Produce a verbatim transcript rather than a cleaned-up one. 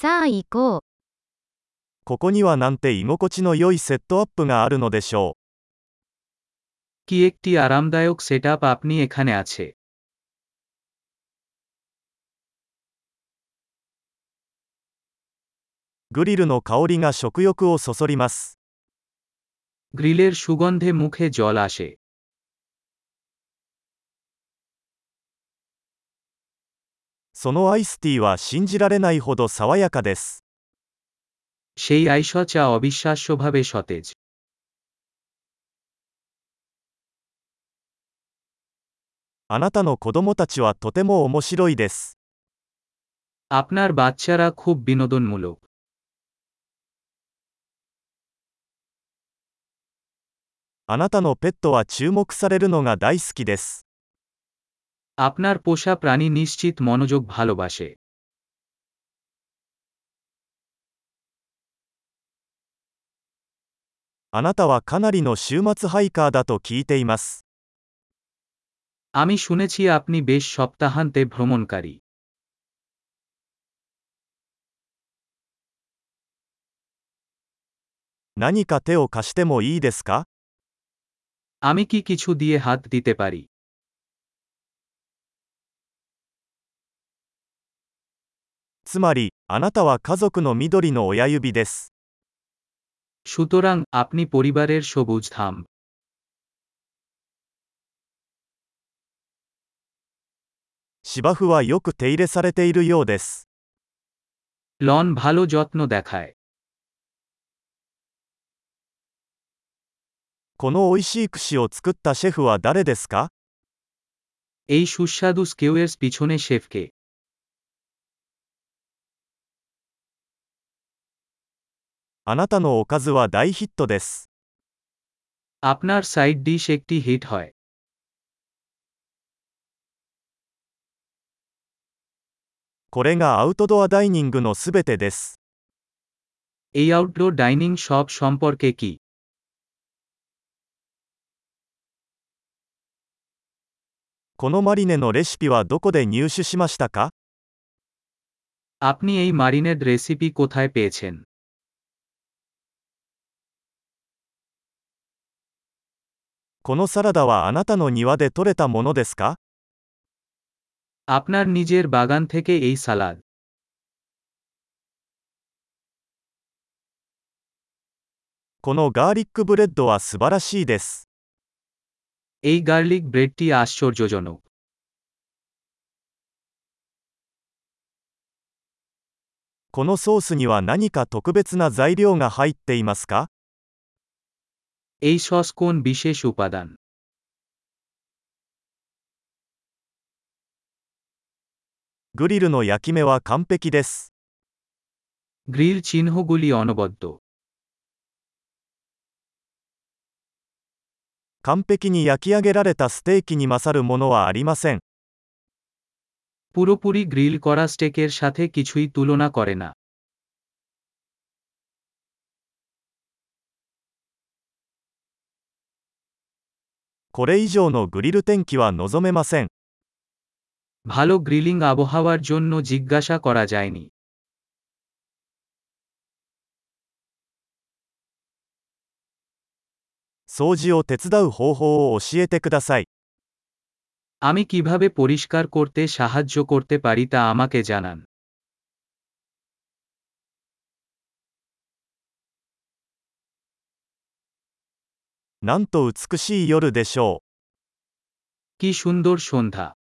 さあ行こう。 ここにはなんて居心地の良いセットアップがあるのでしょ কি একটি আরামদায়ক সেটআপ আপনি এখানে আছে। う。グリルの香りが食欲をそそります。 গ্রিলের সুগন্ধে মুখে জল আসে। そのアイスティーは信じられないほど爽やかです。 সেই আইস চা অবিশ্বাস্যভাবে সতেজ। あなたの子供たちはとても面白いです。 আপনার বাচ্চারা খুব বিনোদনমূলক। あなたのペットは注目されるのが大好きです。 আপনার পোষা প্রাণী নিশ্চিত মনোযোগ ভালোবাসে। あなたはかなりの週末ハイカーだと聞いています。 আমি শুনেছি আপনি বেশ সপ্তাহান্তে ভ্রমণকারী। 何か手を貸してもいいですか？ আমি কি কিছু দিয়ে হাত দিতে পারি? つまり、あなたは家族の緑の親指です。 সুতরাং আপনি পরিবারের সবুজ থাম। 芝生はよく手入れされているようです。 লন ভালো যত্ন দেখায়। この美味しい串を作ったシェフは誰ですか？ এই সুস্বাদু স্কেউয়ের পিছনে শেফকে। あなたのおかずは大ヒットです。 আপনার সাইড ডিশ একটি হিট হয়। これがアウトドアダイニングのすべてです。 এই আউটডোর ডাইনিং সব সম্পর্কে কি? このマリネのレシピはどこで入手しましたか？ আপনি এই মারিনেড রেসিপি কোথায় পেয়েছেন? このサラダはあなたの庭で採れたものですか？ আপনার নিজের বাগান থেকে এই সালাদ। このガーリックブレッドは素晴らしいです。 এই গার্লিক ব্রেডটি আশ্চর্যজনক। このソースには何か特別な材料が入っていますか？ এই সস কোন বিশেষ উপাদান? グリルの焼き目は完璧です。 গ্রিল চিহ্নগুলি অনবদ্য। 完璧に焼き上げられたステーキに勝るものはありません。 পুরোপুরি গ্রিল করা স্টেকের সাথে কিছুই তুলনা করে না। これ以上のグリル天気は望めません。 ভালো গ্রিলিং আবহাওয়ার জন্য জিজ্ঞাসা করা যায়নি। 掃除を手伝う方法を教えてください。 আমি কিভাবে পরিষ্কার করতে সাহায্য করতে পারি তা আমাকে জানান। なんと美しい夜でしょう。 কি সুন্দর সন্ধ্যা।